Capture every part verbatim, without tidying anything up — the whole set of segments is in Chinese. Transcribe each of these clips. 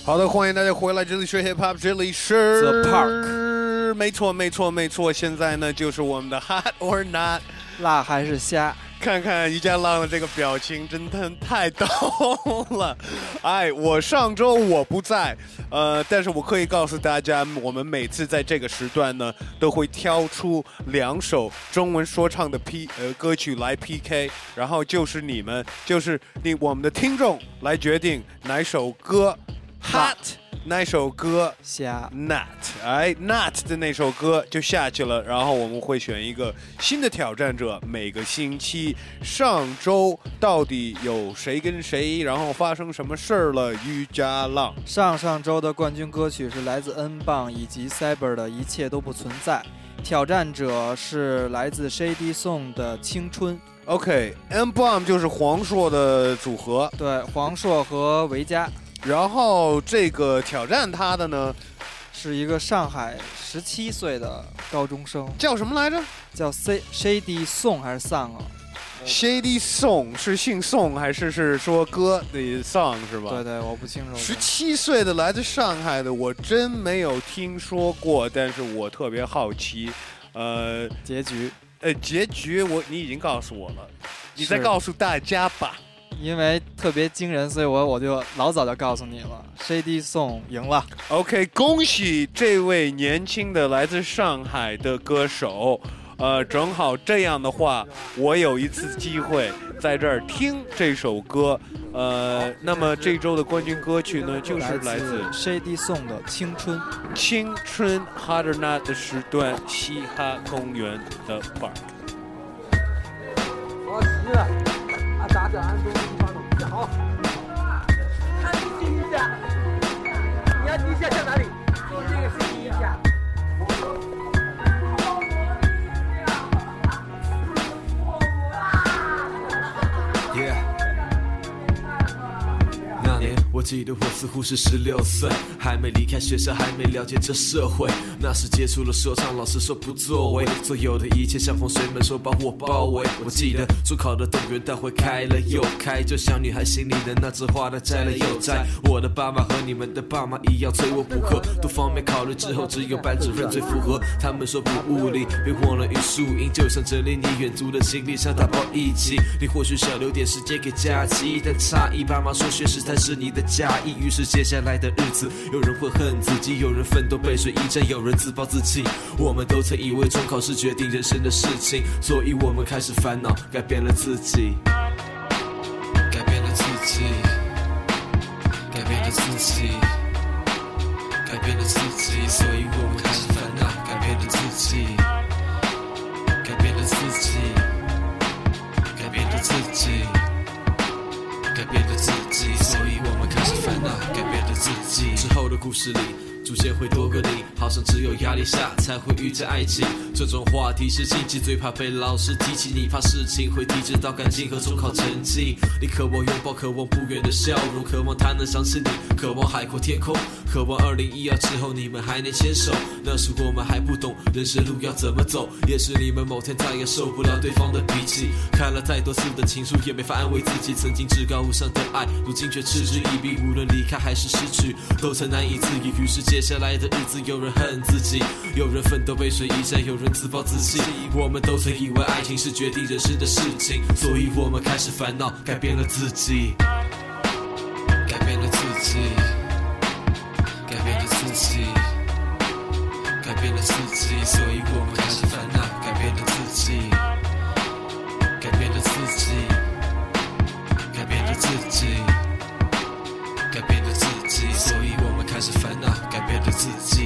好的，欢迎大家回来，这里是 Hip Hop， 这里是 The Park， 没错没错没错，现在呢就是我们的 Hot or Not， 辣还是虾？ 看看于家浪的这个表情，真的太逗了。哎，我上周我不在，呃，但是我可以告诉大家，我们每次在这个时段呢，都会挑出两首中文说唱的 P 呃歌曲来 P K， 然后就是你们，就是你我们的听众来决定哪首歌 hot。那首歌下 Not， 哎 Not 的那首歌就下去了，然后我们会选一个新的挑战者。每个星期，上周到底有谁跟谁，然后发生什么事儿了？于家浪。 上上周的冠军歌曲是来自 N 棒以及 Cyber 的一切都不存在，挑战者是来自 Shady Song 的青春。 OK，N Bomb 就是黄硕的组合， 对，黄硕和维嘉。 然后这个挑战他的呢， 是一个上海十七岁的高中生， 叫什么来着？ 叫 Shady Song 还是 Song 啊 ？Shady Song 是姓宋还是是说歌的 song 是吧？ 对对，我不清楚。 十七岁的来自上海的，我真没有听说过，但是我特别好奇，呃， 结局， 呃，结局我你已经告诉我了，你再告诉大家吧。 因为特别惊人，所以我我就老早就告诉你了 ，Shady Song 赢了。 OK， 恭喜这位年轻的来自上海的歌手。呃，正好这样的话，我有一次机会在这儿听这首歌。呃，那么这周的冠军歌曲呢，就是来自 Shady Song 的《青春》。 青春 Hot or Not 的时段，嘻哈公园的 Park。 好，急了。啊，打着安东尼发动，站好。看第一下，你要第一下向哪里？做这个是第一下。 Yeah。那年我记得我似乎是十六岁，还没离开学校，还没了解这社会。那时接触了说唱，老师说不作为，所有的一切像洪水猛兽把我包围。我记得中考的动员大会开了又开，就像女孩心里的那枝花的摘了又摘。我的爸妈和你们的爸妈一样催我补课，多方面考虑之后，只有班主任最符合。他们说补物理，别忘了语数英，就像整理你远足的行李箱，打包一起。你或许想留点时间给假期，但诧异爸妈说学识才是你的假意。于是接下来的日子，有人会恨自己，有人奋斗背水一战，有人自暴自弃。我们都曾以为中考是决定人生的事情，所以我们开始烦恼，改变了自己，改变了自己，改变了自己，改变了自己，所以我们开始烦恼，改变了自己，改变了自己，改变了自己，改变了自己，所以我们开始烦恼，改变了自己。之后的故事里逐渐会多个你，好像只有压力下才会遇见爱情。这种话题是禁忌，最怕被老师提起。你怕事情会提质到感情和中考成绩。你渴望拥抱，渴望不远的笑容，渴望他能想起你，渴望海阔天空，渴望二零一二之后你们还能牵手。那时我们还不懂人生路要怎么走，也是你们某天再也受不了对方的脾气。看了太多次的情书，也没法安慰自己，曾经至高无上的爱，如今却嗤之以鼻。无论离开还是失去，都曾难以自已。于是接下来的日子，有人恨自己，有人奋斗背水一战，有人自暴自弃。我们都曾以为爱情是决定人生的事情，所以我们开始烦恼，改变了自己，改变了自己，改变了自己，改变了自己，所以我们开始烦恼，改变了自己，改变了自己，改变了自己，改变了自己，所以我们开始烦恼，改变了自己。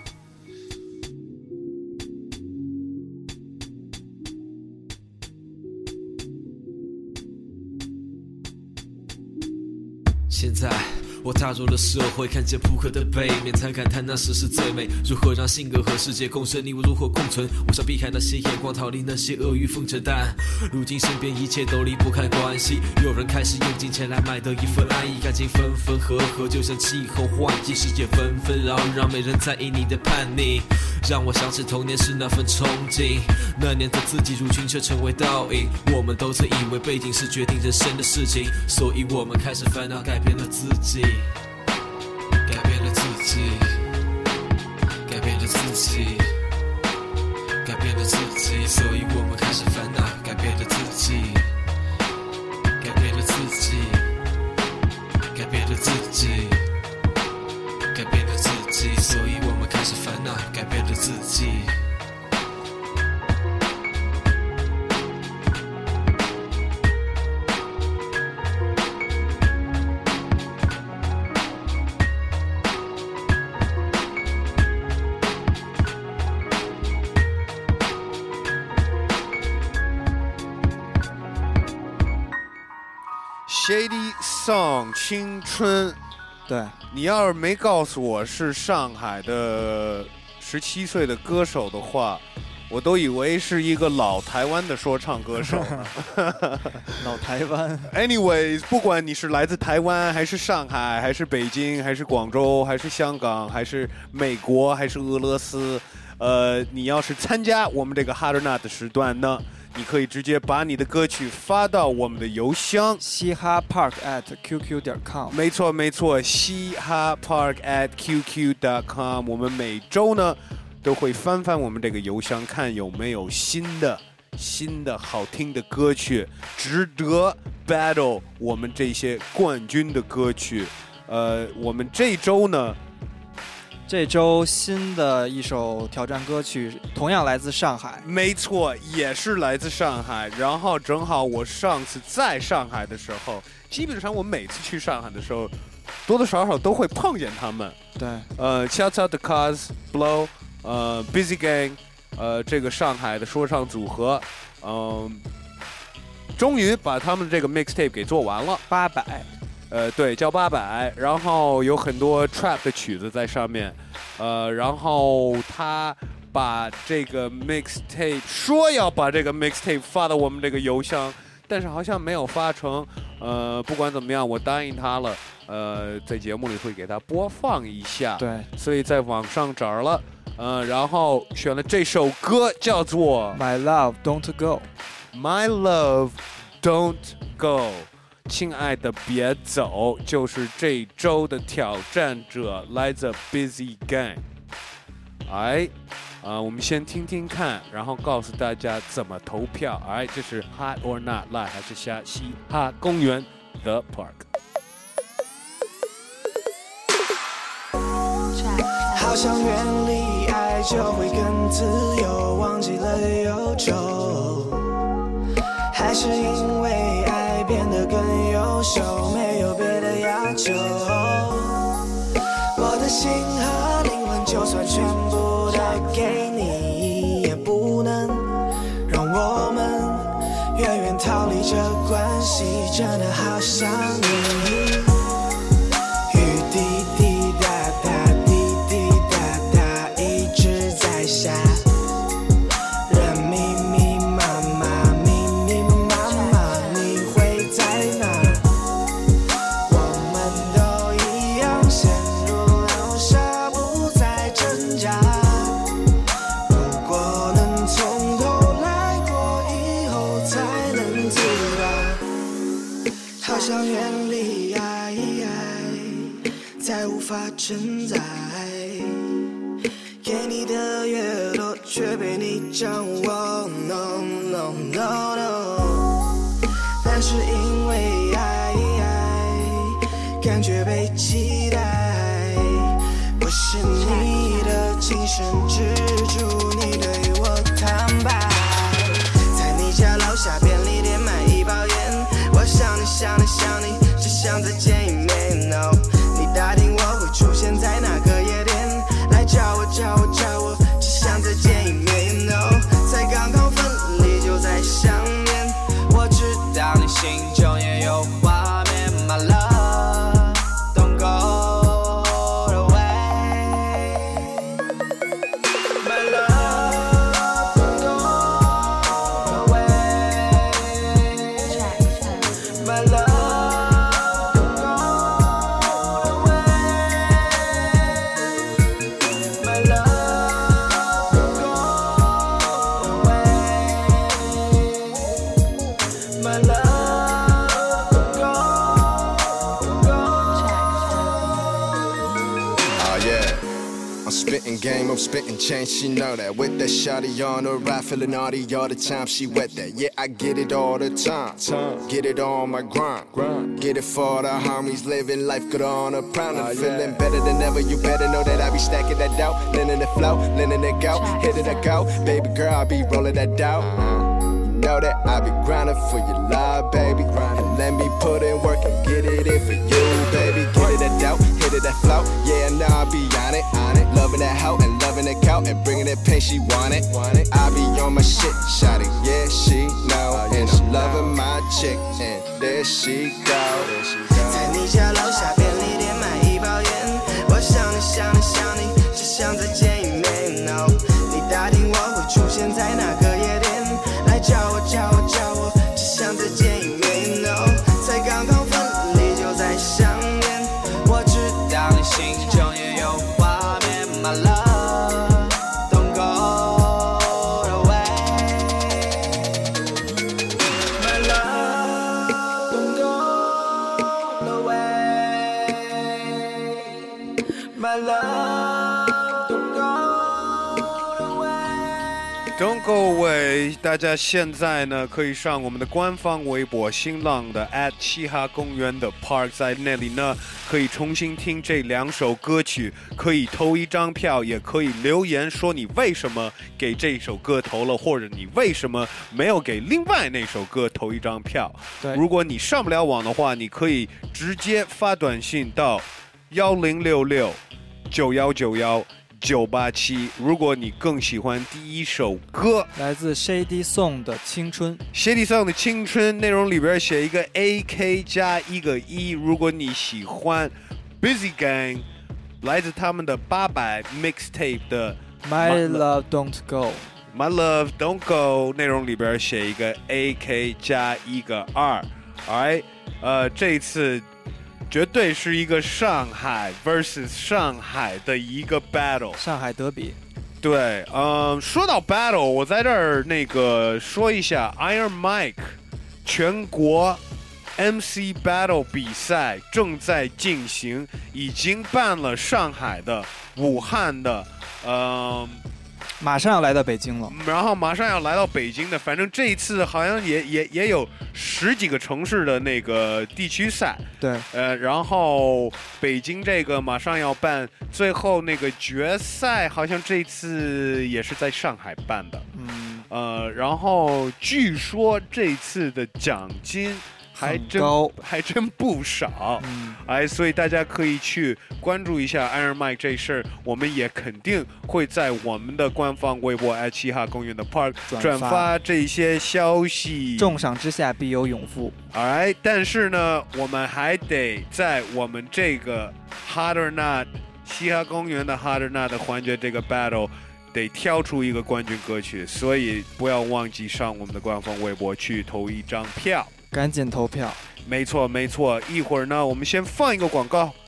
现在我踏入了社会，看见扑克的背面，才感叹那时是最美。如何让性格和世界共生？你我如何共存？我想避开那些眼光，逃离那些阿谀奉承，但如今身边一切都离不开关系。有人开始用金钱来买得一份安逸，感情分分合合，就像气候换季，世界纷纷扰扰，没人在意你的叛逆。让我想起童年时那份憧憬，那年的自己如今却成为倒影。我们都曾以为背景是决定人生的事情，所以我们开始烦恼，改变了自己， 己，改变着自己，改变着自己，所以我们开始烦恼，改变着自己，改变着自己，改变着自己，改变着自己，所以我们开始烦恼，改变着自己。 Shady Song 青春， 对， 你要是没告诉我是上海的十七岁的歌手的话，我都以为是一个老台湾的说唱歌手呢。 老台湾。 Anyways， 不管你是来自台湾，还是上海，还是北京，还是广州，还是香港，还是美国，还是俄罗斯，呃，你要是参加我们这个 Hot or Not 的时段呢，你可以直接把你的歌曲发到我们的邮箱嘻哈 park at qq 点 com。 没错没错，嘻哈 park at qq 点 com。我们每周呢都会翻翻我们这个邮箱，看有没有新的新的好听的歌曲，值得 battle 我们这些冠军的歌曲。呃，我们这周呢， 这周新的一首挑战歌曲同样来自上海， 没错，也是来自上海。然后正好我上次在上海的时候，基本上我每次去上海的时候，多多少少都会碰见他们。 对， 呃 ，Shout out the Cars Blow， 呃 ，Busy Gang， 呃，这个上海的说唱组合，嗯、呃，终于把他们这个 mixtape 给做完了。 八百。 呃，对，叫八百，然后有很多 trap 的曲子在上面，呃，然后他把这个 mixtape 说要把这个 mixtape 发到我们这个邮箱，但是好像没有发成。呃，不管怎么样，我答应他了，呃，在节目里会给他播放一下。 对， 所以在网上找了，呃，然后选了这首歌叫做 My Love Don't Go。My Love Don't Go。亲爱的别走，就是这周的挑战者，来自 Busy Gang。哎，啊、呃，我们先听听看，然后告诉大家怎么投票。哎，这是 Hot or Not Live 还是下嘻哈公园 The Park？ 好想远离爱，就会更自由，忘记了忧愁，还是因为爱变得更优秀，没有别的要求。我的心和灵魂就算全部都给你，也不能让我们远远逃离这关系，真的好想你。雨滴滴答答滴滴答答一直在下，人密密麻麻密密麻麻，你会在哪？我们都一样陷入流沙，不再挣扎。如果能从头来过，以后才能自拔。好想远离爱，再无法承载。给你的越多，却被你掌握。No no no no。但是因为爱，感觉被期待。我是你的精神支柱，你对我坦白。在你家楼下便利店买一包烟，我想你想你想你，只想再见一面。No， 你打听我会出现在哪个夜店，来找我找我找我，只想再见一面。You know， 才刚刚分离就在想念，我知道你心中也有画面。My love don't go away， My love don't go away， My love don't go I'm spitting game, I'm spitting change, she know that. With that shawty on the ride, feeling naughty all the time, she wet that. Yeah, I get it all the time. Get it on my grind. Get it for the homies, living life good on a pound. I'm feeling better than ever, you better know that I be stacking that dough. Letting it flow, letting it go, hit it a go. Baby girl, I be rolling that dough. You know that I be grinding for your love, baby. And let me put in work and get it in for you, baby. Get it that dough, hit it that flow. Yeah, now I be on it, on it. Loving that hoe and loving that cow and bringing that pain, she want it. I be on my shit, shawty, yeah, she know. And she loving my chick, and there she go. 在你家楼下便利店买一包烟，我想你想你想你，只想再见一面。No， 你打听我会出现在哪个夜店，来叫我叫我叫我，只想再见一面。No， 才刚刚分离就在想念，我知道你心中也有画面。My love don't go away， My love don't go away， My love don't go away。 Don't go away！ 大家现在呢可以上我们的官方微博新浪的 at 嘻哈公园的 Park， 在那里呢可以重新听这两首歌曲，可以投一张票，也可以留言说你为什么给这首歌投了，或者你为什么没有给另外那首歌投一张票。 对， 如果你上不了网的话，你可以直接发短信到幺零六六九幺九幺九八七。如果你更喜欢第一首歌， 来自 Shady Song 的《青春》。 Shady Song 的青春内容里边写一个 A K 加一个一。如果你喜欢 Busy Gang， 来自他们的八百 mixtape 的 My Love Don't Go。My Love Don't Go 内容里边写一个 A K 加一个二。Alright， 呃，这一次绝对是一个上海 versus 上海的一个 battle， 上海德比。 对，嗯，说到 battle， 我在这儿那个说一下 Iron Mike 全国 M C battle 比赛正在进行，已经办了上海的、武汉的，嗯。 马上要来到北京了， 然后马上要来到北京的，反正这一次好像也也也有十几个城市的那个地区赛， 对， 呃，然后北京这个马上要办，最后那个决赛好像这次也是在上海办的， 嗯， 呃，然后据说这次的奖金还真还真不少， 嗯， 哎，所以大家可以去关注一下 Iron Mike 这事儿，我们也肯定会在我们的官方微博 at 嘻哈公园的 Park 转发这些消息。 重赏之下必有勇夫。 哎，但是呢，我们还得在我们这个 Hot or Not 嘻哈公园的 Hot or Not 的环节这个 battle。得挑出一个冠军歌曲，所以不要忘记上我们的官方微博去投一张票， 赶紧投票。 没错没错，一会儿呢，我们先放一个广告。